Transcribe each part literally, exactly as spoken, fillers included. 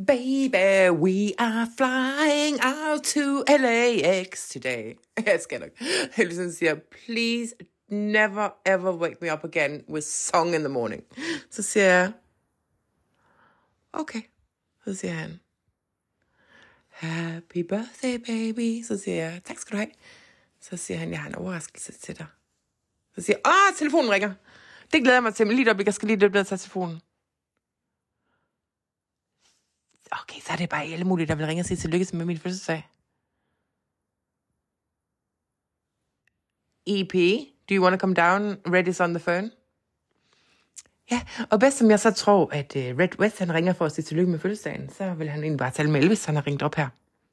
Baby, we are flying out to L A X today. Jeg skal nok. Heldigvis siger, please never ever wake me up again with song in the morning. Så siger jeg, okay. Så siger han, happy birthday, baby. Så siger jeg, tak skal du have. Så siger han, jeg har en overraskelse til dig. Så siger jeg, åh, telefonen ringer. Det glæder jeg mig til, men lige op, jeg skal lige løbe ned og tage telefonen. Okay, så er det bare alle mulige, der vil ringe og sige tillykke med min fødselsdag. E P, do you want to come down? Red is on the phone. Ja, og bedst som jeg så tror, at uh, Red West, han ringer for at sige tillykke med fødselsdagen, så vil han egentlig bare tale med Elvis, han har ringet op her.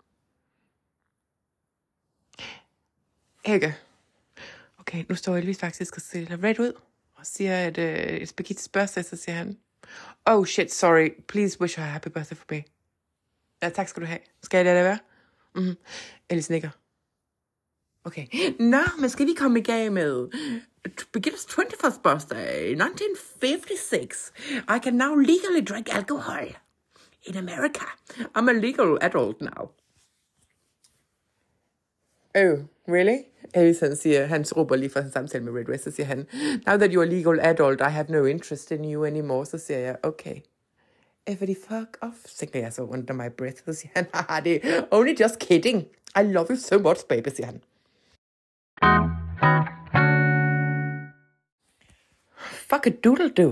Ikke? Okay, nu står Elvis faktisk og stiller Red ud, og siger, at uh, it's Birgitte's birthday, så siger han, oh shit, sorry, please wish her a happy birthday for me. Ja, tak skal du have. Skal jeg lade det være? Mm-hmm. Alice nikker. Okay. Nå, men skal vi komme i gang med Birgitte's twenty-first birthday, nineteen fifty-six. I can now legally drink alcohol in America. I'm a legal adult now. Oh, really? Alice, han siger, han råber lige for en samtale med Red West, så siger han, now that you're a legal adult, I have no interest in you anymore. Så siger jeg, okay. Everybody fuck off, tænker jeg så under my breath. Så siger han, haha, det er only just kidding. I love you so much, baby, siger han. Fuck a doodle do.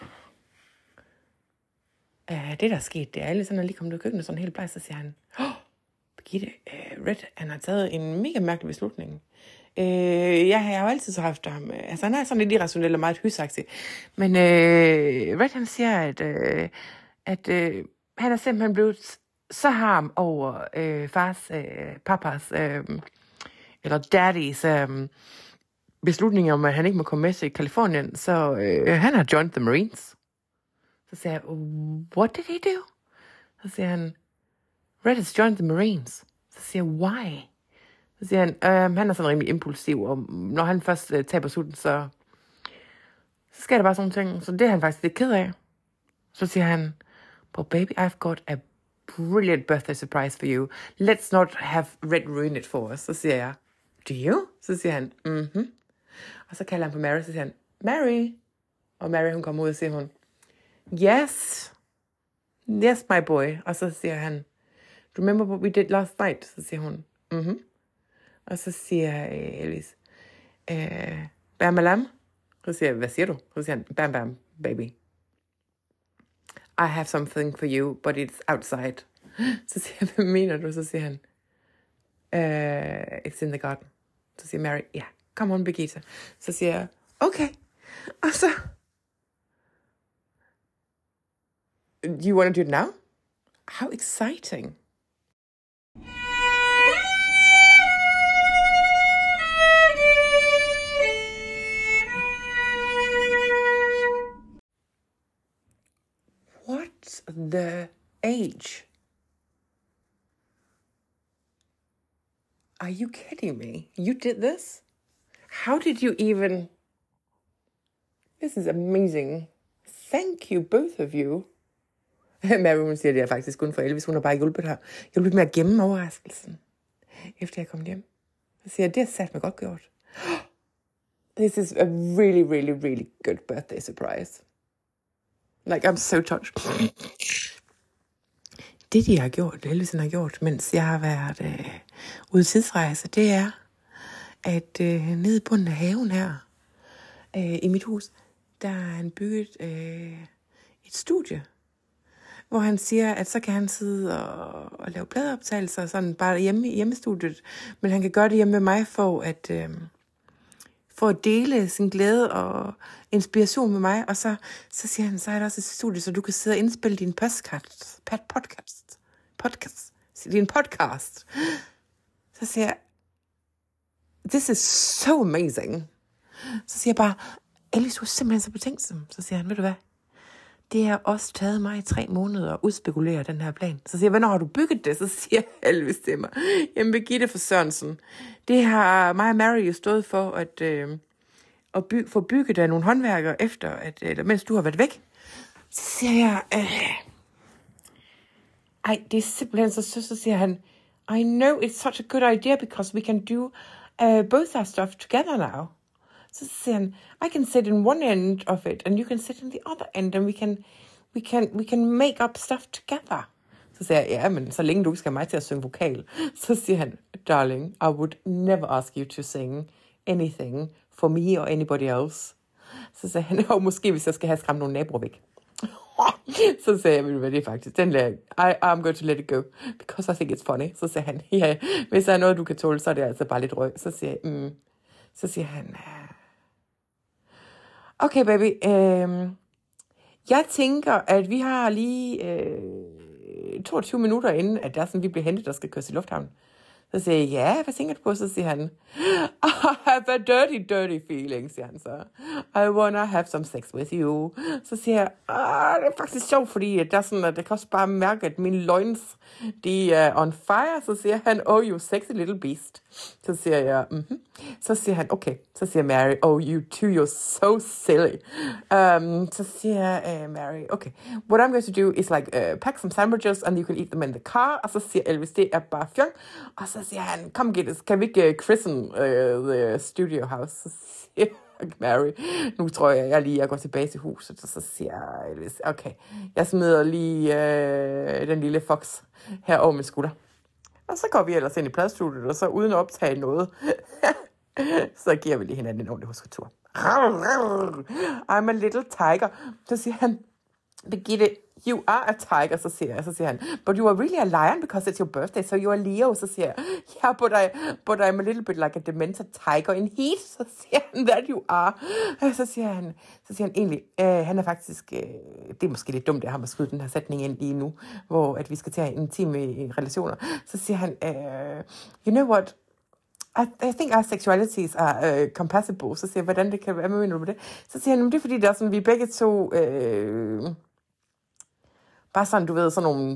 Uh, det, der er sket, det er alle sådan, at lige kommet ud af køkkenet, sådan helt bleg, så siger han, oh, Birgitte, uh, Red, han har taget en mega mærkelig beslutning. Uh, ja, jeg har jo altid så haft ham. Uh, altså, han er sådan lidt irrationel og meget hysagtig. Men uh, Red, han siger, at, uh, at uh, han er simpelthen blevet så harm over uh, fars, uh, papas, uh, eller daddys uh, beslutning om, at han ikke må komme med til Kalifornien. Så uh, han har joined the Marines. Så siger jeg, what did he do? Så siger han, Red has joined the Marines. Så siger jeg, why? Så siger han, øh, han er sådan rimelig impulsiv, og når han først øh, taber sulten, så, så sker der bare sådan ting. Så det er han faktisk lidt ked af. Så siger han, but baby, I've got a brilliant birthday surprise for you. Let's not have Red ruin it for us. Så siger jeg, do you? Så siger han, mhm. Og så kalder han på Mary, så siger han, Mary. Og Mary, hun kommer ud og siger hun, yes, yes, my boy. Og så siger han, remember what we did last night? Så siger hun, mhm. Og så siger øh, Elvis, øh, bam, bam. Så siger jeg, hvad siger du? Så siger han, bam, bam, baby. I have something for you, but it's outside. Så siger jeg, hvad mener du? Så siger han, uh, it's in the garden. Så siger Mary, ja, yeah, come on, Birgitte. Så siger jeg, okay. Og så, do you want to do it now? How exciting. What's the age? Are you kidding me? You did this? How did you even... This is amazing. Thank you, both of you. Mary, hun siger, det er faktisk kun for Elvis. Hun har bare hjulpet her. Hjulpet med at gemme overraskelsen, efter jeg kom hjem. Så siger jeg, det har sat mig godt gjort. This is a really, really, really good birthday surprise. Like, I'm so touched. Det, de har gjort, Elvis har gjort, mens jeg har været øh, ude tidsrejse, det er, at øh, nede i bunden af haven her, øh, i mit hus, der har han bygget øh, et studie, hvor han siger, at så kan han sidde og, og lave pladeoptagelser, sådan bare hjemme i hjemmestudiet, men han kan gøre det hjemme med mig for at, øh, for at dele sin glæde og inspiration med mig, og så, så siger han, så er der også et studie, så du kan sidde og indspille din podcast, podcast, podcast, din podcast. Så siger jeg, this is so amazing. Så siger jeg bare, Elvis, du er simpelthen så betænksom. Så siger han, ved du hvad, det har også taget mig i tre måneder at udspekulere den her plan. Så siger jeg, hvornår har du bygget det? Så siger Elvis til mig, jamen Birgitte for Sørensen, det har mig og Mary jo stået for, at, øh, at by, få bygget af nogle håndværkere efter, at, eller, mens du har været væk. Så siger jeg, øh, ej, det er simpelthen så sødt, så siger han, I know it's such a good idea, because we can do uh, both our stuff together now. Så siger han, I can sit in one end of it, and you can sit in the other end, and we can, we can, we can make up stuff together. Så siger jeg, ja, men så længe du ikke skal have mig til at synge vokal. Så siger han, darling, I would never ask you to sing anything for me or anybody else. Så siger han, og måske hvis jeg skal have skræmt nogle naboer væk. Så sagde jeg, hvad det er faktisk, den der, I, I'm going to let it go, because I think it's funny. Så siger han, ja, hvis der er noget, du kan tåle, så er det altså bare lidt røg. Så siger jeg, mm. Så siger han, okay baby, øh, jeg tænker, at vi har lige øh, toogtyve minutter inden, at der er sådan, vi bliver hentet, der skal køres i lufthavnen. Så siger jeg, ja, hvad tænker du på? Så siger han, I have a dirty, dirty feeling, siger han så. I wanna have some sex with you. Så siger jeg, ah, det er faktisk sjovt, fordi der er sådan, at det kan også bare mærke, at mine loins, de er on fire. Så siger han, oh, you sexy little beast. Så siger jeg, mhm. Så siger han, okay. Så siger Mary, oh, you two, you're so silly. Um, så siger uh, Mary, okay, what I'm going to do is like uh, pack some sandwiches, and you can eat them in the car. Og så siger Elvis, det er bare fjong. Og så siger han, kom get it, kan vi ikke uh, christen uh, the studio house? Så siger Mary, nu tror jeg, jeg lige jeg går tilbage til huset, og så siger Elvis, okay, jeg smider lige uh, den lille fox her over min skulder. Og så går vi ellers ind i pladestudiet, og så uden at optage noget, så giver vi lige hinanden en ordentlig husketur. I'm a little tiger. Så siger han, Birgitte, you are a tiger, så siger jeg, så siger han, but you are really a lion because it's your birthday, so you are Leo. Så siger jeg, yeah, but, I, but I'm a little bit like a demented tiger in heat. Så siger han, that you are. Så siger han, så siger han egentlig, øh, han er faktisk, øh, det er måske lidt dumt, at han har skudt den her sætning ind lige nu, hvor at vi skal til at have intime relationer. Så siger han, øh, you know what, I, I think our sexualities are uh, compatible. Så siger jeg, hvordan det kan være, hvad mener du med det? Så siger han, det er fordi, der er sådan, vi er begge to, øh, bare sådan, du ved, sådan nogle,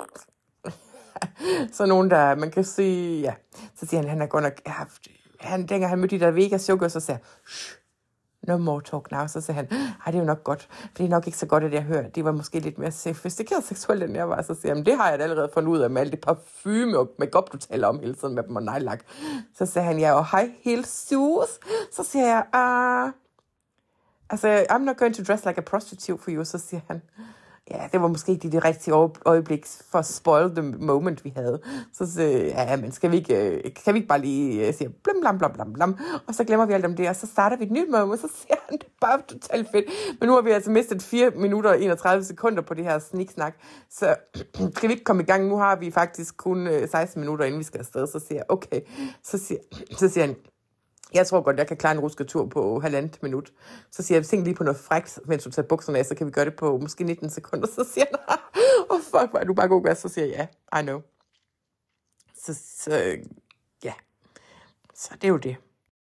sådan nogle, der, man kan sige, ja. Så siger han, han er godt nok, haft, han, dengang han mødte de der Vegas sugar, så siger shh, no more talk now. Så siger han, ej, det er jo nok godt, for det er nok ikke så godt, at jeg hører. Det var måske lidt mere sofistikeret seksuelt, end jeg var. Så siger han, det har jeg da allerede fundet ud af med alt det parfume og makeup, du taler om hele tiden med dem og nejlak. Så siger han, ja, og high heel shoes. Så siger jeg, ah, altså, I'm not going to dress like a prostitute for you. Så siger han, ja, det var måske ikke det rigtige øjeblik for at spoil the moment, vi havde. Så siger jeg, ja, men skal vi ikke, kan vi ikke bare lige sige blam, blam, blam, blam, blam, og så glemmer vi alt om det, og så starter vi et nyt moment, så siger han, det er bare totalt fedt. Men nu har vi altså mistet fire minutter og enogtredive sekunder på det her sniksnak, så skal vi ikke komme i gang. Nu har vi faktisk kun seksten minutter, inden vi skal afsted. Så siger jeg, okay, så siger, så siger han, jeg tror godt, jeg kan klare en rusketur på halvandet minut. Så siger jeg, tænk lige på noget frækt, mens du tager bukserne af, så kan vi gøre det på måske nitten sekunder. Så siger han, oh fuck, hvor er du bare god gas. Så siger jeg, ja, I know. Så, så ja, så det er jo det.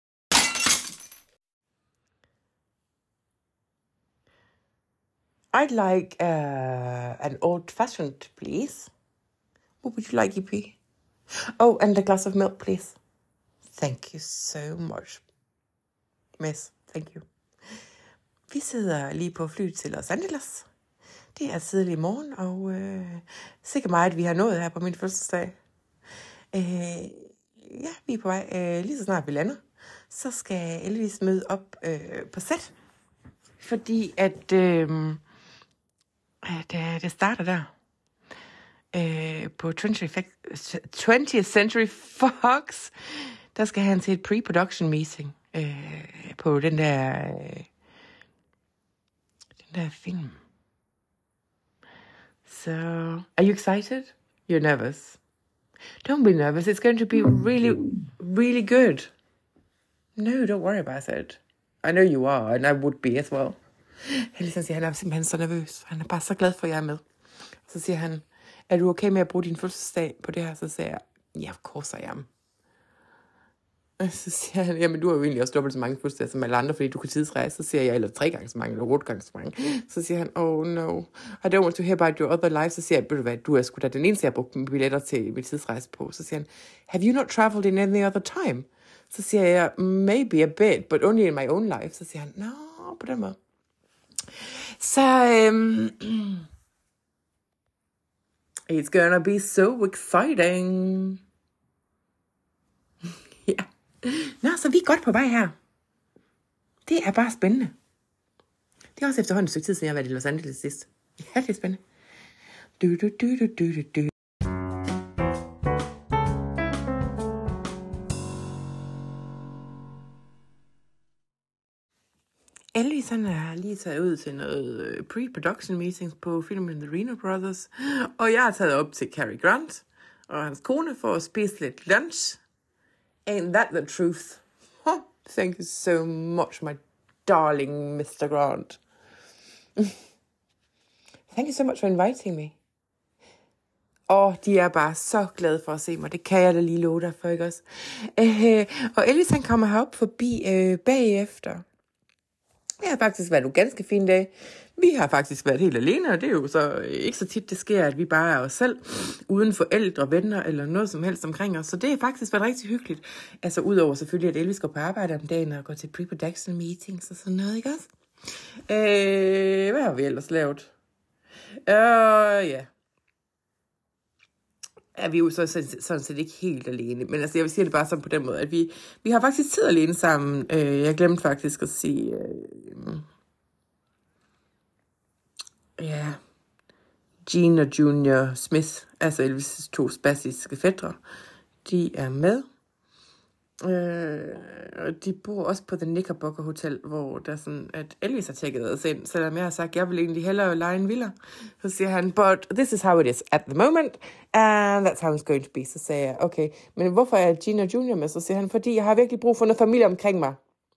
I'd like uh, an old-fashioned, please. What would you like, E P? Oh, and a glass of milk, please. Thank you so much, miss. Thank you. Vi sidder lige på flyet til Los Angeles. Det er tidlig morgen, og øh, sikkert meget, at vi har nået her på min fødselsdag. Øh, ja, vi er på vej. Øh, lige så snart vi lander, så skal Elvis møde op øh, på sæt. Fordi at øh, det, det starter der. Øh, på twentieth Century Fox. Der skal han til et pre-production meeting øh, på den der, øh, den der film. So, are you excited? You're nervous. Don't be nervous. It's going to be really, really good. No, don't worry about it. I know you are, and I would be as well. Han ligesom siger, han er simpelthen så nervøs. Han er bare så glad for, at jeg er med. Så siger han, er du okay med at bruge din fødselsdag på det her? Så siger jeg, yeah, of course I am. Og så siger han, jamen du har jo egentlig også dobbelt så mange fødselsdage som alle andre, fordi du kan tidsrejse. Så siger jeg, eller tre gange så mange, eller otte gange så mange. Så siger han, oh no, I don't want to hear about your other life. Så siger jeg, ved du hvad, du er sgu da den eneste, jeg har brugt mine billetter til min tidsrejse på. Så siger han, have you not traveled in any other time? Så siger jeg, maybe a bit, but only in my own life. Så siger han, no, på den måde. Så, øhm, It's gonna be so exciting. Ja. Nå, så vi er godt på vej her. Det er bare spændende. Det er også efterhånden et stykke tid, siden jeg har været i Los Angeles sidst. Ja, det er spændende. Du, du, du, du, du, du, du. Elvis, han er lige taget ud til noget pre-production meetings på filmen The Reno Brothers. Og jeg er taget op til Cary Grant og hans kone for at spise lidt lunch. Ain't that the truth? Huh? Thank you so much, my darling mister Grant. Thank you so much for inviting me. Og de er bare så glade for at se mig. Det kan jeg da lige love dig for, ikke også? Øh, og Elvis, han kommer herop forbi øh, bagefter. Det har faktisk været nogle ganske fine dage. Vi har faktisk været helt alene, og det er jo så ikke så tit, det sker, at vi bare er os selv, uden forældre, venner eller noget som helst omkring os. Så det har faktisk været rigtig hyggeligt. Altså udover selvfølgelig, at Elvis går på arbejde om dagen og går til pre-production meetings og sådan noget, ikke også? Øh, hvad har vi ellers lavet? Øh, ja. Er vi jo så sådan set ikke helt alene. Men altså, jeg vil sige det bare sådan på den måde, at vi, vi har faktisk tid alene sammen. Øh, jeg glemte faktisk at sige... Øh, ja... Gene og Junior Smith, altså Elvis' to spasiske fætre, de er med. Øh, og de bor også på The Knickerbocker Hotel, hvor der sådan, at Elvis har tjekket os ind, selvom jeg har sagt, at jeg vil egentlig hellere lege en villa. Så siger han, but this is how it is at the moment, and that's how it's going to be. Så sagde jeg, okay, men hvorfor er Gene og Junior med? Så siger han, fordi jeg har virkelig brug for noget familie omkring mig.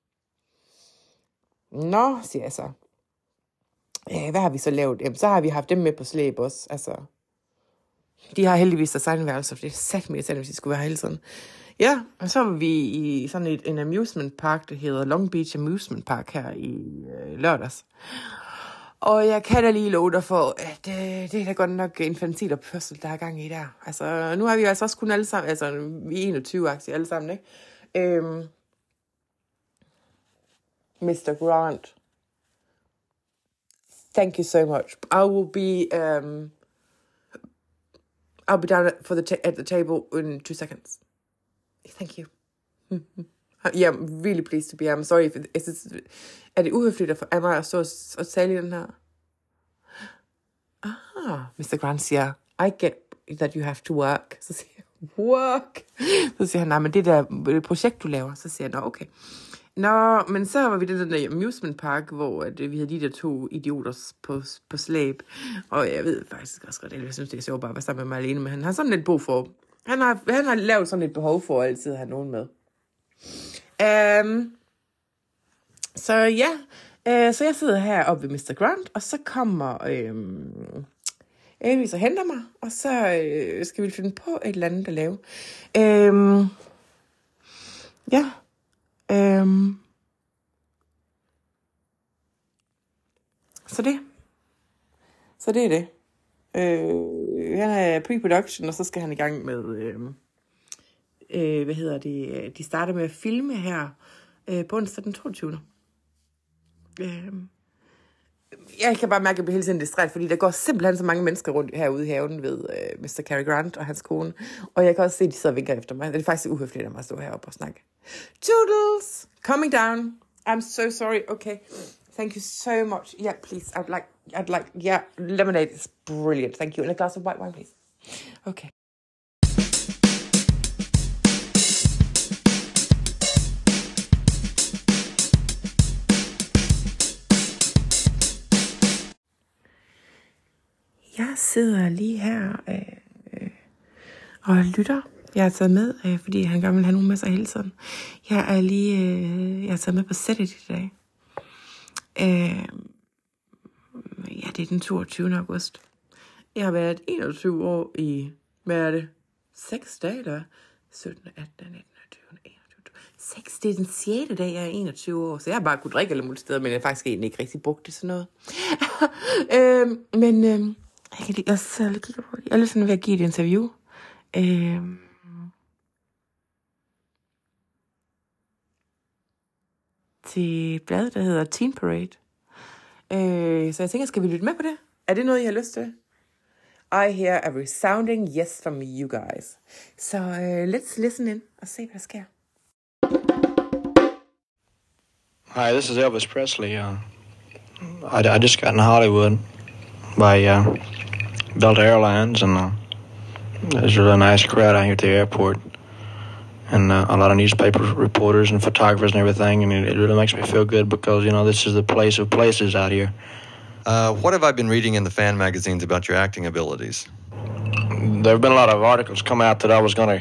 Nå, siger jeg så. Øh, hvad har vi så lavet? Jamen, så har vi haft dem med på slæb også. Altså, de har heldigvis deres egen værelse, for det er sat med, hvis de skulle være hele tiden. Ja, og så var vi i sådan et, en amusement park, der hedder Long Beach Amusement Park her i øh, lørdags. Og jeg kan da lige love dig for, at øh, det er da godt nok infantil opførsel, der er gang i der. Altså, nu har vi altså også kun alle sammen, altså vi er enogtyve-aktige alle sammen, ikke? Øhm, mister Grant, thank you so much. I will be, um, I'll be down for the ta- at the table in two seconds. Thank you. Yeah, I'm really pleased to be here. I'm sorry if it, is it, er det uhøfligt af mig at stå og tale i den her? Ah, mister Grant siger, I get that you have to work. Så siger jeg, work? Så siger han, nej, men det der projekt, du laver. Så siger jeg, nå, okay. Nå, men så var vi det der amusement park, hvor at, vi havde de der to idioter på, på slæb. Og jeg ved faktisk også godt, at jeg synes, det er sjovt bare at være sammen med mig alene, men han har sådan lidt brug for... Han har, han har lavet sådan et behov for at altid have nogen med. Um, så ja, uh, så jeg sidder her oppe ved mister Grant, og så kommer um, Elvis og henter mig, og så uh, skal vi finde på et eller andet at lave. Um, ja. Um, så det. Så det er det. Øh, han er pre-production, og så skal han i gang med, øh, øh, hvad hedder det, de starter med at filme her øh, på onsdag den toogtyvende Øh, jeg kan bare mærke, at jeg bliver hele tiden distraheret, fordi der går simpelthen så mange mennesker rundt herude i haven ved øh, mister Cary Grant og hans kone, og jeg kan også se, at de sidder og vinker efter mig. Det er faktisk uhøfligt at mig at stå heroppe og snakke. Toodles! Coming down. I'm so sorry. Okay. Thank you so much. Yeah, please. I'd like, I'd like, yeah, lemonade is brilliant. Thank you. And a glass of white wine, please. Okay. Jeg sidder lige her øh, og lytter. Jeg er taget med, øh, fordi han gerne vil have nogen med sig hele tiden. Jeg er lige, øh, jeg er taget med på sættet i dag. Øh, ja, det er den toogtyvende august. Jeg har været enogtyve år i, hvad er det? seks dage, eller sytten, atten, nitten, tyve, enogtyve. seks, det er den sjette dag, jeg er enogtyve år. Så jeg har bare kunnet drikke alle mulige steder, men jeg har faktisk egentlig ikke rigtig brugt det sådan noget. øh, men øh, jeg kan lige, jeg sidder lige kigger på det. Jeg er lidt sådan ved at give et interview. Øh, til bladet, der hedder Teen Parade. Øh, så jeg tænker, skal vi lytte med på det? Er det noget, I har lyst til? I hear a resounding yes from you guys. Så uh, let's listen in og se, hvad der sker. Hi, this is Elvis Presley. Uh, I, I just got in Hollywood by uh, Delta Airlines, and uh, there's a really nice crowd out here at the airport, and uh, a lot of newspaper reporters and photographers and everything, and it, it really makes me feel good because, you know, this is the place of places out here. Uh, what have I been reading in the fan magazines about your acting abilities? There have been a lot of articles come out that I was going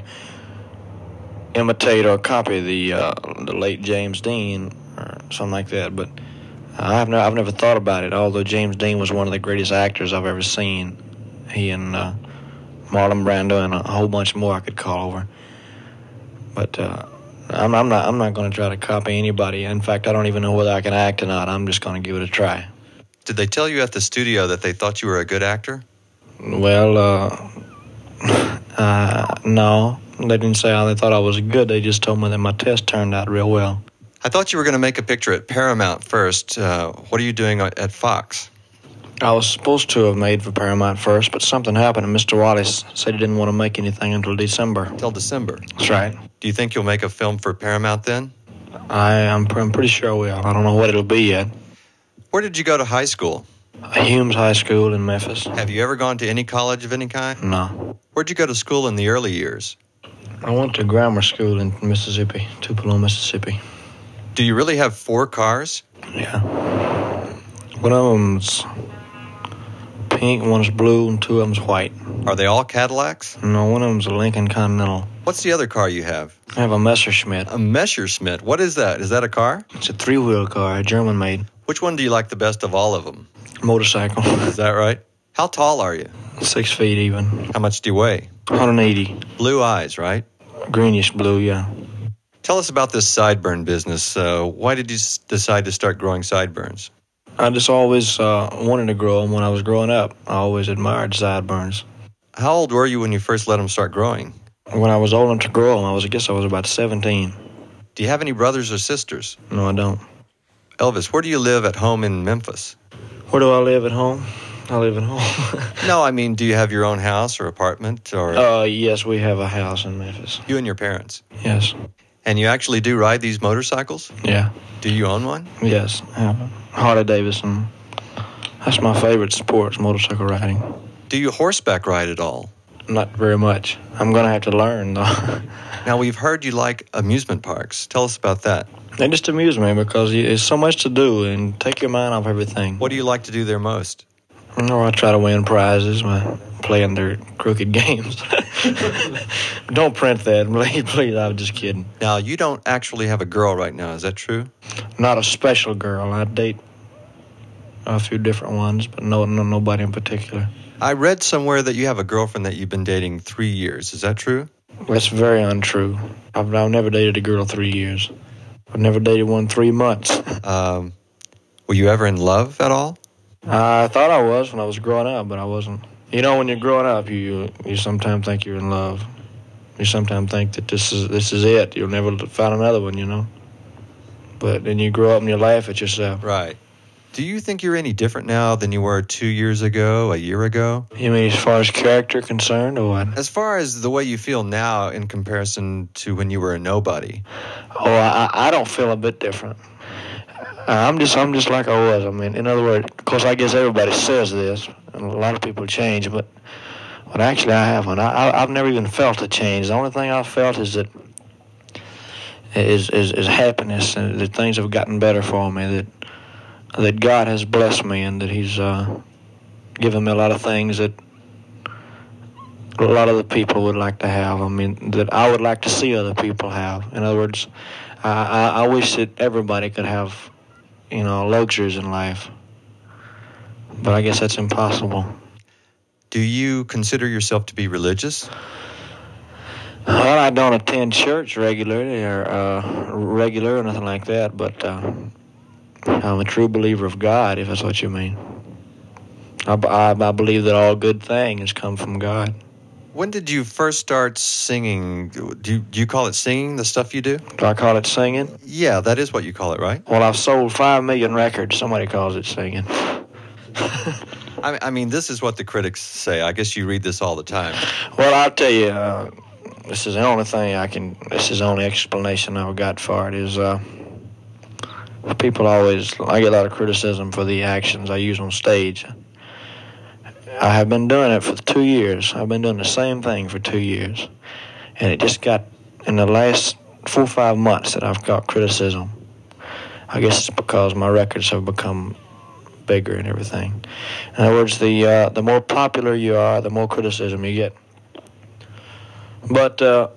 to imitate or copy the uh, the late James Dean or something like that, but I've never, I've never thought about it, although James Dean was one of the greatest actors I've ever seen. He and uh, Marlon Brando and a whole bunch more I could call over. But uh, I'm, I'm not I'm not going to try to copy anybody. In fact, I don't even know whether I can act or not. I'm just going to give it a try. Did they tell you at the studio that they thought you were a good actor? Well, uh, uh, no. They didn't say how they thought I was good. They just told me that my test turned out real well. I thought you were going to make a picture at Paramount first. Uh, what are you doing at Fox? I was supposed to have made for Paramount first, but something happened, and Mister Wallace said he didn't want to make anything until December. Until December? That's right. Do you think you'll make a film for Paramount then? I, I'm, I'm pretty sure I will. I don't know what it'll be yet. Where did you go to high school? Humes High School in Memphis. Have you ever gone to any college of any kind? No. Where'd you go to school in the early years? I went to grammar school in Mississippi, Tupelo, Mississippi. Do you really have four cars? Yeah. One of them's pink, one's blue, and two of them's white. Are they all Cadillacs? No, one of them's a Lincoln Continental. What's the other car you have? I have a Messerschmitt. A Messerschmitt. What is that? Is that a car? It's a three-wheel car, a German-made. Which one do you like the best of all of them? Motorcycle. Is that right? How tall are you? Six feet even. How much do you weigh? one hundred eighty. Blue eyes, right? Greenish blue, yeah. Tell us about this sideburn business. Uh, why did you s- decide to start growing sideburns? I just always uh, wanted to grow them when I was growing up. I always admired sideburns. How old were you when you first let them start growing? When I was old enough to grow them, I was, I guess I was about seventeen. Do you have any brothers or sisters? No, I don't. Elvis, where do you live at home in Memphis? Where do I live at home? I live at home. No, I mean, do you have your own house or apartment? Or Uh, yes, we have a house in Memphis. you and your parents? Yes. And you actually do ride these motorcycles? Yeah. Do you own one? Yes, I have a Harley Davidson. That's my favorite sport, is motorcycle riding. Do you horseback ride at all? Not very much. I'm going to have to learn, though. Now, we've heard you like amusement parks. Tell us about that. They just amuse me because you- there's so much to do and take your mind off everything. What do you like to do there most? No, I try to win prizes by playing their crooked games. Don't print that, please, please. I was just kidding. Now, you don't actually have a girl right now. Is that true? Not a special girl. I date a few different ones, but no, no, nobody in particular. I read somewhere that you have a girlfriend that you've been dating three years. Is that true? That's very untrue. I've, I've never dated a girl three years. I've never dated one three months. Um, were you ever in love at all? I thought I was when I was growing up, but I wasn't. You know, when you're growing up, you you sometimes think you're in love. You sometimes think that this is this is it. You'll never find another one, you know. But then you grow up and you laugh at yourself. Right. Do you think you're any different now than you were two years ago, a year ago? You mean as far as character concerned, or what? As far as the way you feel now in comparison to when you were a nobody. Oh, I, I don't feel a bit different. I'm just I'm just like I was. I mean, in other words, of course, I guess everybody says this, and a lot of people change, but but actually I haven't. I, I I've never even felt a change. The only thing I've felt is that is is, is happiness, and that things have gotten better for me. That that God has blessed me, and that He's uh, given me a lot of things that a lot of the people would like to have. I mean, that I would like to see other people have. In other words, I I, I wish that everybody could have, you know, luxuries in life. But I guess that's impossible. Do you consider yourself to be religious? Well, I don't attend church regularly or uh, regular or nothing like that, but uh, I'm a true believer of God, if that's what you mean. I, I, I believe that all good things come from God. When did you first start singing? Do you, do you call it singing, the stuff you do? Do I call it singing? Yeah, that is what you call it, right? Well, I've sold five million records. Somebody calls it singing. I, I mean, this is what the critics say. I guess you read this all the time. Well, I'll tell you, uh, this is the only thing I can, this is the only explanation I've got for it is uh, people always, I get a lot of criticism for the actions I use on stage. I have been doing it for two years. I've been doing the same thing for two years. And it just got, in the last four or five months that I've got criticism. I guess it's because my records have become bigger and everything. In other words, the uh, the more popular you are, the more criticism you get. But uh,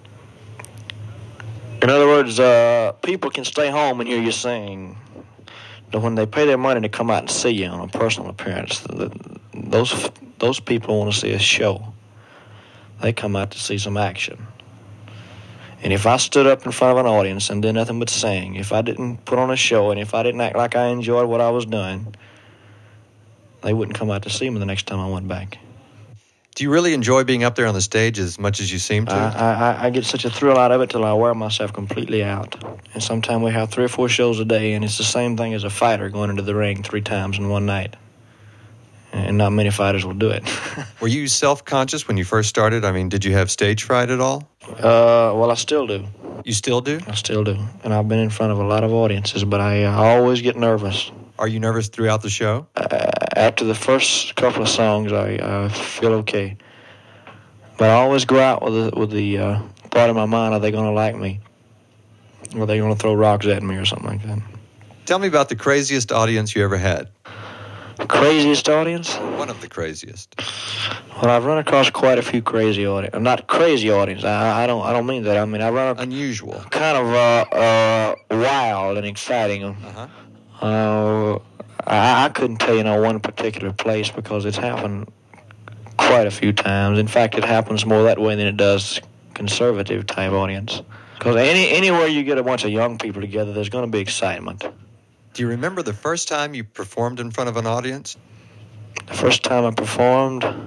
in other words, uh, people can stay home and hear you sing. But when they pay their money to come out and see you on a personal appearance, the, the, those those people want to see a show. They come out to see some action. And if I stood up in front of an audience and did nothing but sing, if I didn't put on a show, and if I didn't act like I enjoyed what I was doing, they wouldn't come out to see me the next time I went back. Do you really enjoy being up there on the stage as much as you seem to? I, I, I get such a thrill out of it till I wear myself completely out. And sometimes we have three or four shows a day, and it's the same thing as a fighter going into the ring three times in one night. And not many fighters will do it. Were you self-conscious when you first started? I mean, did you have stage fright at all? Uh, well, I still do. You still do? I still do. And I've been in front of a lot of audiences, but I uh, always get nervous. Are you nervous throughout the show? Uh, after the first couple of songs, I, I feel okay. But I always go out with the, with the uh, thought in my mind, are they going to like me? Or are they going to throw rocks at me or something like that? Tell me about the craziest audience you ever had. Craziest audience? One of the craziest. Well, I've run across quite a few crazy audience. Not crazy audience. I, I don't. I don't mean that. I mean I run a, unusual, kind of uh, uh, wild and exciting. Uh-huh. Uh, I, I couldn't tell you no one particular place because it's happened quite a few times. In fact, it happens more that way than it does conservative type audience. Because any anywhere you get a bunch of young people together, there's going to be excitement. Do you remember the first time you performed in front of an audience? The first time I performed, uh,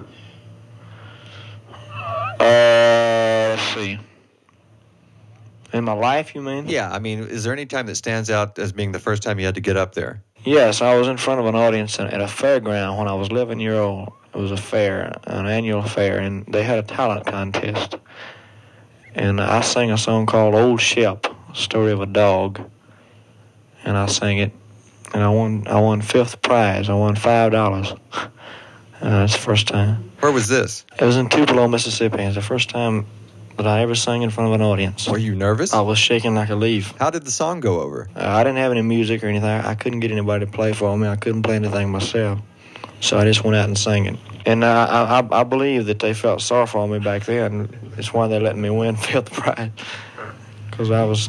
let's see, in my life, you mean? Yeah, I mean, is there any time that stands out as being the first time you had to get up there? Yes, I was in front of an audience at a fairground when I was eleven years old. It was a fair, an annual fair, and they had a talent contest. And I sang a song called Old Shep, Story of a Dog. And I sang it, and I won. I won fifth prize. I won five dollars. Uh, that's the first time. Where was this? It was in Tupelo, Mississippi. It's the first time that I ever sang in front of an audience. Were you nervous? I was shaking like a leaf. How did the song go over? Uh, I didn't have any music or anything. I couldn't get anybody to play for me. I couldn't play anything myself. So I just went out and sang it. And uh, I, I, I believe that they felt sorry for me back then. It's why they let me win fifth prize, because I was.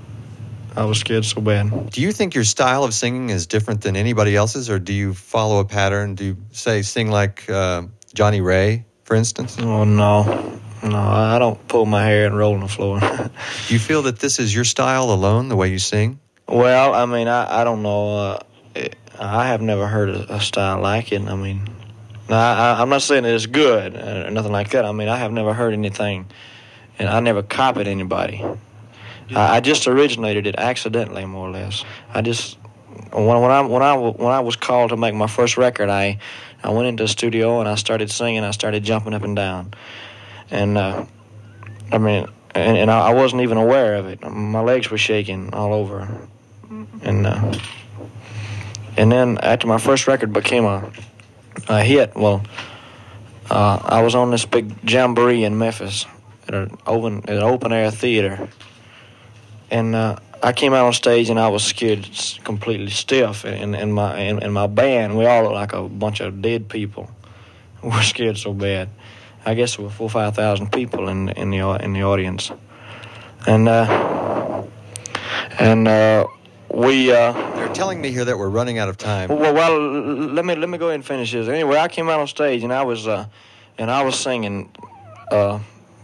I was scared so bad. Do you think your style of singing is different than anybody else's, or do you follow a pattern? Do you, say, sing like uh, Johnny Ray, for instance? Oh, no. No, I don't pull my hair and roll on the floor. Do you feel that this is your style alone, the way you sing? Well, I mean, I, I don't know. Uh, it, I have never heard a, a style like it. I mean, I, I'm not saying that it's good or nothing like that. I mean, I have never heard anything, and I never copied anybody. I just originated it accidentally, more or less. I just when when I when I when I was called to make my first record, I I went into the studio and I started singing. I started jumping up and down, and uh, I mean, and, and I wasn't even aware of it. My legs were shaking all over, and uh, and then after my first record became a a hit, well, uh, I was on this big jamboree in Memphis at an open at an open air theater. And uh, I came out on stage and I was scared completely stiff. And, and my and, and my band, we all looked like a bunch of dead people. We were scared so bad. I guess there were four or five thousand people in in the in the audience. And uh, and uh, we. Uh, They're telling me here that we're running out of time. Well, well, let me let me go ahead and finish this. Anyway, I came out on stage and I was uh, and I was singing. Uh,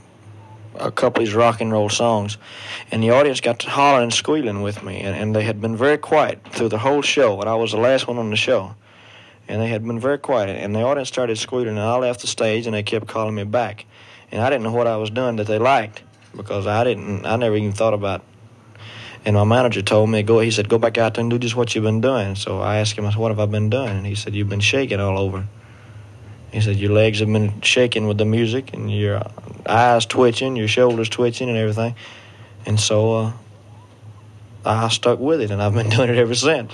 a couple of these rock and roll songs, and the audience got to hollering and squealing with me, and, and they had been very quiet through the whole show, and I was the last one on the show, and they had been very quiet, and the audience started squealing, and I left the stage, and they kept calling me back, and I didn't know what I was doing that they liked, because I didn't, I never even thought about, And my manager told me, go. He said, go back out there and do just what you've been doing. So I asked him, I said, what have I been doing? And he said, you've been shaking all over. He said, your legs have been shaking with the music, and your eyes twitching, your shoulders twitching and everything. And so uh, I stuck with it, and I've been doing it ever since.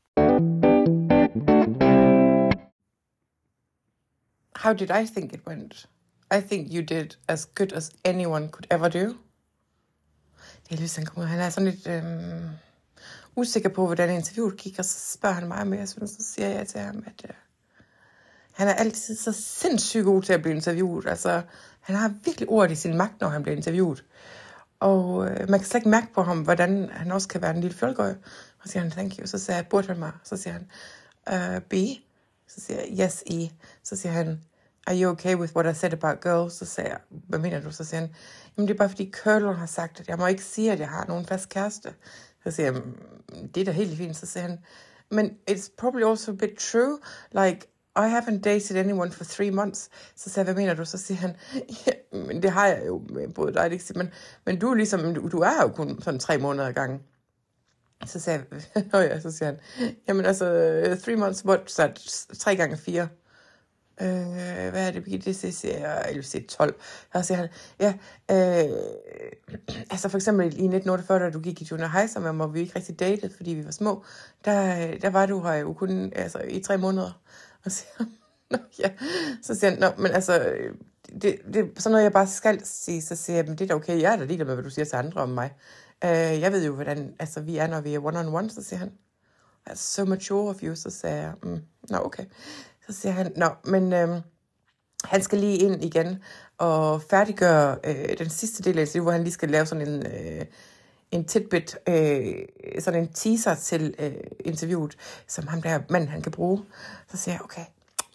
How did I think it went? I think you did as good as anyone could ever do. Elvis, han kommer, han er sådan lidt øhm, usikker på, hvordan interviewet gik, og så spørger han mig, men jeg synes, så siger jeg til ham, at øh, han er altid så sindssygt god til at blive interviewet. Altså, han har virkelig ord i sin magt, når han bliver interviewet. Og øh, man kan slet ikke mærke på ham, hvordan han også kan være en lille fjolgøj. Og så siger han, thank you. Så siger jeg, burde han mig? Så siger han, uh, B. Så siger jeg, yes, E. Så siger han, are you okay with what I said about girls? Så siger jeg, hvad mener du? Så siger han, jamen det er bare fordi Curler har sagt, at jeg må ikke sige, at jeg har nogen fast kæreste. Så siger jeg, det er da helt fint. Så siger han, men it's probably also a bit true, like, I haven't dated anyone for three months. Så siger jeg, hvad mener du? Så siger han, ja, men det har jeg jo med både dig, det men, men du er ligesom, du, du er jo kun sådan tre måneder ad gangen. Så siger jeg, oh ja, så siger han, jamen altså, three months, what, så tre gange fire. Øh, hvad er det, Birgitte? Det siger jeg, eller siger tolv. Så siger han, ja, øh, altså for eksempel i nitten otteogfyrre, da du gik i junior high sammen med mig, hvor vi ikke rigtig datede, fordi vi var små, der, der var du her jo kun altså, i tre måneder. Og så siger han, nå ja, så siger han, nå, men altså, det, det er sådan noget, jeg bare skal sige, så siger jeg, men det er da okay, jeg er da ligeglad med, hvad du siger til andre om mig. Uh, jeg ved jo, hvordan altså, vi er, når vi er one-on-one, så siger han, that's so mature of you, så siger jeg, mm, nå okay. Så siger han, nå, men øhm, han skal lige ind igen og færdiggøre øh, den sidste del af interviewet, hvor han lige skal lave sådan en, øh, en tidbit, øh, sådan en teaser til øh, interviewet, som ham der mand, han kan bruge. Så siger jeg, okay,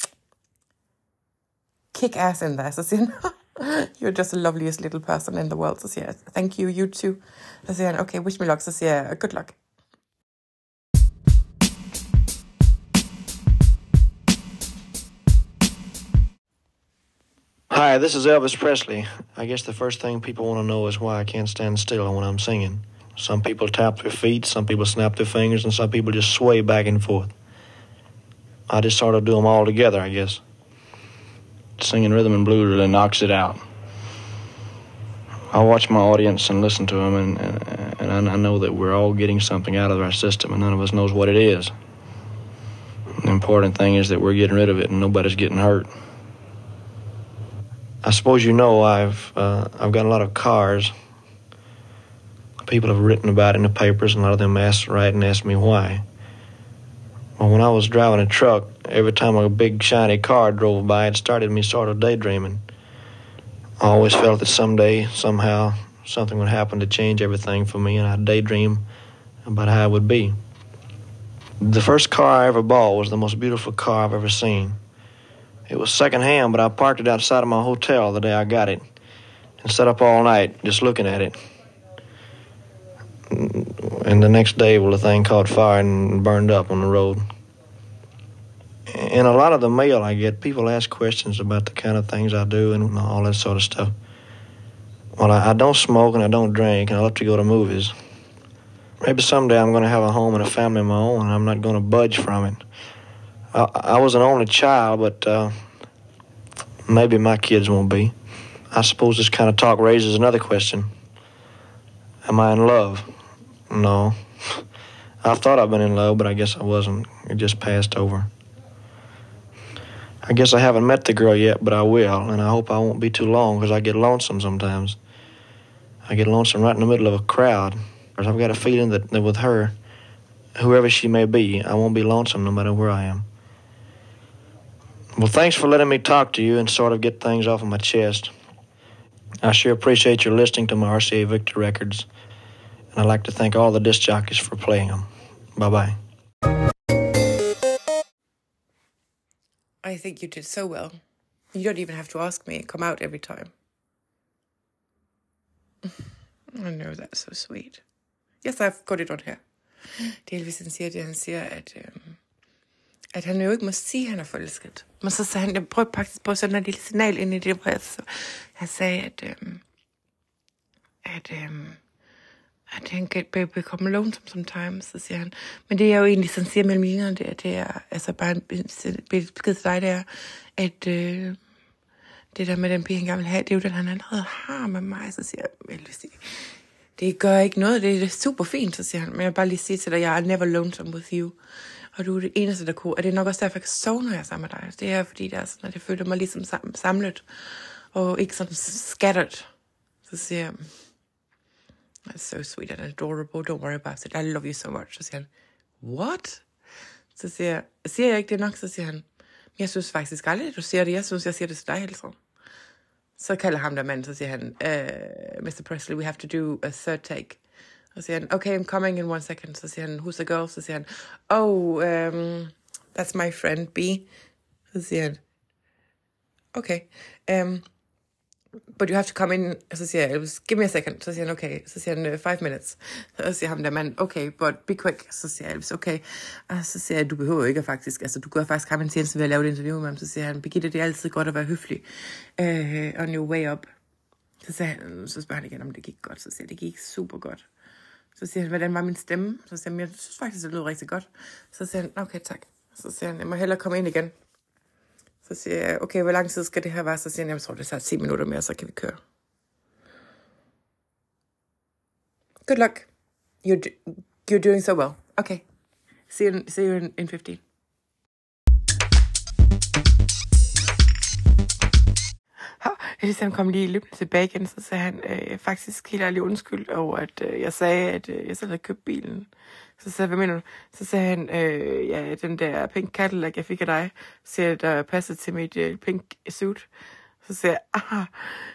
kick ass in there. Så siger han, you're just the loveliest little person in the world. Så siger jeg, thank you, you too. Så siger han, okay, wish me luck. Så siger jeg, good luck. Hi, this is Elvis Presley. I guess the first thing people want to know is why I can't stand still when I'm singing. Some people tap their feet, some people snap their fingers, and some people just sway back and forth. I just sort of do them all together, I guess. Singing rhythm and blues really knocks it out. I watch my audience and listen to them, and, and, and I know that we're all getting something out of our system, and none of us knows what it is. The important thing is that we're getting rid of it, and nobody's getting hurt. I suppose you know I've uh, I've got a lot of cars. People have written about it in the papers, and a lot of them asked, write and asked me why. Well, when I was driving a truck, every time a big shiny car drove by, it started me sort of daydreaming. I always felt that someday, somehow, something would happen to change everything for me, and I'd daydream about how it would be. The first car I ever bought was the most beautiful car I've ever seen. It was secondhand, but I parked it outside of my hotel the day I got it and sat up all night just looking at it. And the next day, well, the thing caught fire and burned up on the road. In a lot of the mail I get, people ask questions about the kind of things I do and all that sort of stuff. Well, I, I don't smoke and I don't drink, and I love to go to movies. Maybe someday I'm going to have a home and a family of my own, and I'm not going to budge from it. I, I was an only child, but uh, maybe my kids won't be. I suppose this kind of talk raises another question. Am I in love? No. I thought I'd been in love, but I guess I wasn't. It just passed over. I guess I haven't met the girl yet, but I will, and I hope I won't be too long, because I get lonesome sometimes. I get lonesome right in the middle of a crowd. I've got a feeling that, that with her, whoever she may be, I won't be lonesome no matter where I am. Well, thanks for letting me talk to you and sort of get things off of my chest. I sure appreciate your listening to my R C A Victor records, and I'd like to thank all the disc jockeys for playing them. Bye-bye. I think you did so well. You don't even have to ask me. Come out every time. I know, that's so sweet. Yes, I've got it on here. Delvis han siger det, han siger, at, øhm, at han jo ikke må sige, at han er forelsket. Men så sagde han, jeg prøvede faktisk på sådan et lille signal ind i det, hvor jeg, så, han sagde, at, øhm, at øhm, I can get become lonesome sometimes, så siger han. Men det er jo egentlig, sådan siger mellem linjerne, det er, det er altså bare en besked til dig, det er, at øh, det der med den pige, han gerne vil have, det er jo den, han allerede har med mig. Så siger jeg, Elvis, det, det gør ikke noget, det er super fint, så siger han. Men jeg vil bare lige sige til dig, jeg er never lonesome with you. Og du er det eneste, der kunne. Og det er nok også derfor, jeg kan sove, når jeg er sammen med dig. Det er fordi, det er sådan, at jeg føler mig ligesom samlet, og ikke sådan scattered. Så siger jeg, that's so sweet and adorable, don't worry about it, I love you so much. Så siger han, what? Så siger jeg, siger jeg ikke det nok? Så siger han, jeg synes faktisk aldrig, at du siger det, jeg synes, jeg siger det til dig hele tiden. Så kalder ham der mand, så siger han, uh, mister Presley, we have to do a third take. Så siger han, okay, I'm coming in one second. Så siger han, who's the girl? Så siger han, oh, um, that's my friend B. Så siger han, okay, um, but you have to come in. Så siger jeg, give me a second. Så siger han, okay. Så siger han, five minutes. Så siger ham der mand, okay, but be quick. Så siger jeg, okay. Og så siger jeg, du behøver ikke faktisk, altså du gør faktisk ham en tjeneste ved at lave et interview med ham. Så siger han, Birgitte, det er altid godt at være høflig. Uh, on your way up. Så, siger han, så spørger han igen, om det gik godt. Så siger jeg, det gik super godt. Så siger han, hvordan var min stemme? Så siger han, jeg synes faktisk, det lød rigtig godt. Så siger han, okay, tak. Så siger han, jeg må hellere komme ind igen. Så siger jeg, okay, hvor lang tid skal det her være? Så siger han, jeg tror, det tager ti minutter mere, så kan vi køre. Good luck. You're, do- you're doing so well. Okay. See you, see you in, in fifteen. Elisam kom lige løbende tilbage igen, så sagde han øh, faktisk helt ærligt undskyld over, at øh, jeg sagde, at øh, jeg selv havde købt bilen. Så sagde jeg, hvad mener du? Så sagde han, øh, ja, den der pink Cadillac, jeg fik af dig, siger, der passer til mit øh, pink suit. Så sagde jeg, ah,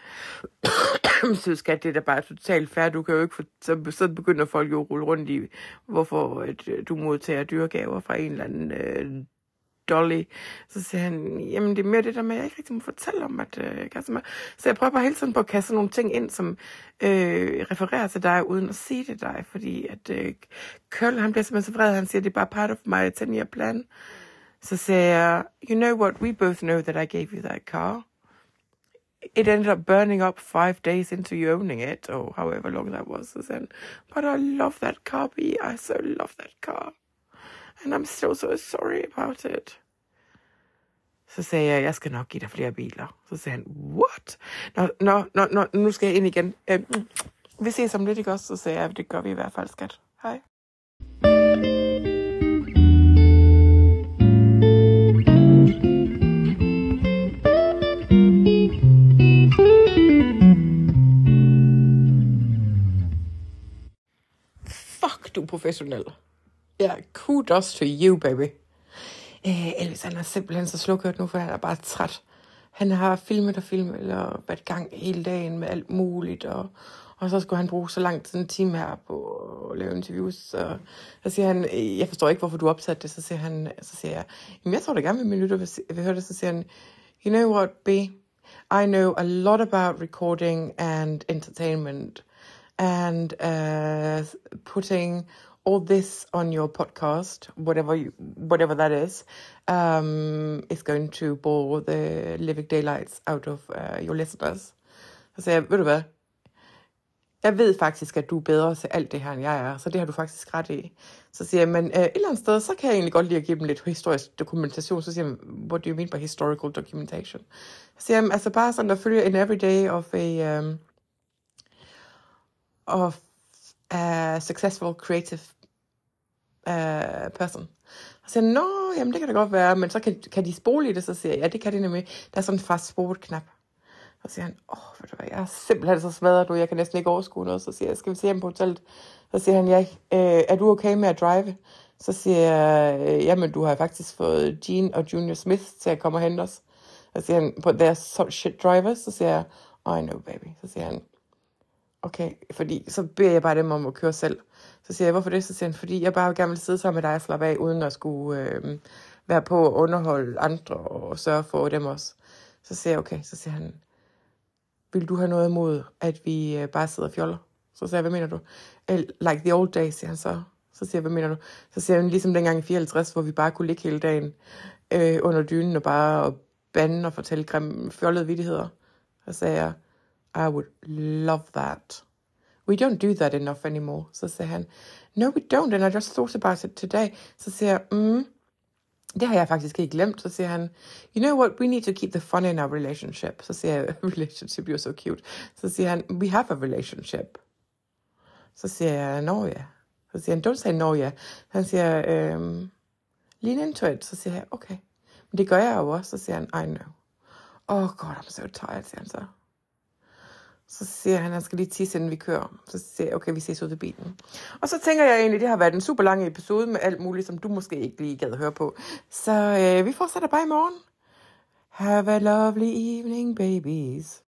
så skat, det er da bare totalt fair, du kan jo ikke få, så, så begynder folk jo at rulle rundt i, hvorfor at, øh, du modtager dyregaver fra en eller anden øh, Dolly. Så siger han, jamen det er mere det der med, at jeg ikke rigtig må fortælle om, at øh, kaste mig. Så jeg prøver bare hele tiden på at kaste nogle ting ind, som øh, refererer til dig, uden at sige det dig, fordi at øh, Køl, han bliver simpelthen så vred, han siger, det er bare part of my ten-year plan. Så siger jeg, you know what, we both know that I gave you that car. It ended up burning up five days into you owning it, or however long that was. Så siger han, but I love that car, B. I so love that car. And I'm still so sorry about it. Så sagde jeg, jeg skal nok give dig flere biler. Så sagde han, what? Nå, nå, nå, nå nu skal jeg ind igen. Øh, vi ses om lidt, ikke også? Så sagde jeg, det gør vi i hvert fald, skat. Hej. Fuck, du er professionel. Ja, yeah, kudos to you, baby. Øh, Elvis, han er simpelthen så slukhørt nu, for han er bare træt. Han har filmet og filmet, eller været i gang hele dagen med alt muligt, og, og så skulle han bruge så lang tid, en time her på at lave interviews. Så, så siger han, jeg forstår ikke, hvorfor du opsatte det. Så siger, han, så siger jeg, jamen jeg tror da gerne, at min lytter vil, vil høre det. Så siger han, you know what, B? I know a lot about recording and entertainment, and uh, putting all this on your podcast, whatever you, whatever that is, um, is going to bore the living daylights out of uh, your listeners. Så sagde jeg, ved du hvad, jeg ved faktisk, at du er bedre til alt det her, end jeg er, så det har du faktisk ret i. Så siger jeg, men uh, et eller andet sted, så kan jeg egentlig godt lide at give dem lidt historisk dokumentation. Så siger jeg, what do you mean by historical documentation? Så siger jeg, altså bare sådan at følge en everyday of a, um, of a successful creative uh, person. Så siger jeg, nå, jamen det kan da godt være, men så kan, kan de spole i det, så siger jeg, ja, det kan de nemlig. Der er sådan en fast forward-knap. Så siger han, åh, oh, ved du hvad, jeg er simpelthen så smadret nu, jeg kan næsten ikke overskue noget. Så siger jeg, skal vi se ham på hotellet? Så siger han, ja, øh, er du okay med at drive? Så siger jeg, øh, jamen du har faktisk fået Gene og Junior Smith til at komme og hente os. Så siger han, but they're so shit drivers. Så siger jeg, oh, I know baby. Så siger han, okay, fordi så beder jeg bare dem om at køre selv. Så siger jeg, hvorfor det? Så siger han, fordi jeg bare gerne vil sidde sammen med dig og slappe af, uden at skulle øh, være på at underholde andre og sørge for dem også. Så siger jeg, okay, så siger han, vil du have noget imod, at vi øh, bare sidder og fjoller? Så siger jeg, hvad mener du? Like the old days, siger han så. Så siger jeg, hvad mener du? Så siger han, ligesom dengang i fireoghalvtreds, hvor vi bare kunne ligge hele dagen øh, under dynen og bare og bande og fortælle grimme fjollede vittigheder. Så sagde jeg, I would love that. we don't do that enough anymore. Så siger han, no, we don't, and I just thought about it today. Så siger jeg, mm, det har jeg faktisk ikke glemt. Så siger han, you know what, we need to keep the fun in our relationship. Så siger jeg, relationship, you're so cute. Så siger han, we have a relationship. Så siger jeg, no, yeah. Så siger han, don't say no, yeah. Han siger, um, lean into it. Så siger jeg, okay. Men det gør jeg jo også. Så siger han, I know. Oh god, I'm so tired, siger han så. Så siger han, han skal lige tisse, inden vi kører. Så siger jeg, okay, vi ses ud af bilen. Og så tænker jeg egentlig, det har været en super lang episode med alt muligt, som du måske ikke lige gad høre på. Så øh, vi fortsætter bare i morgen. Have a lovely evening, babies.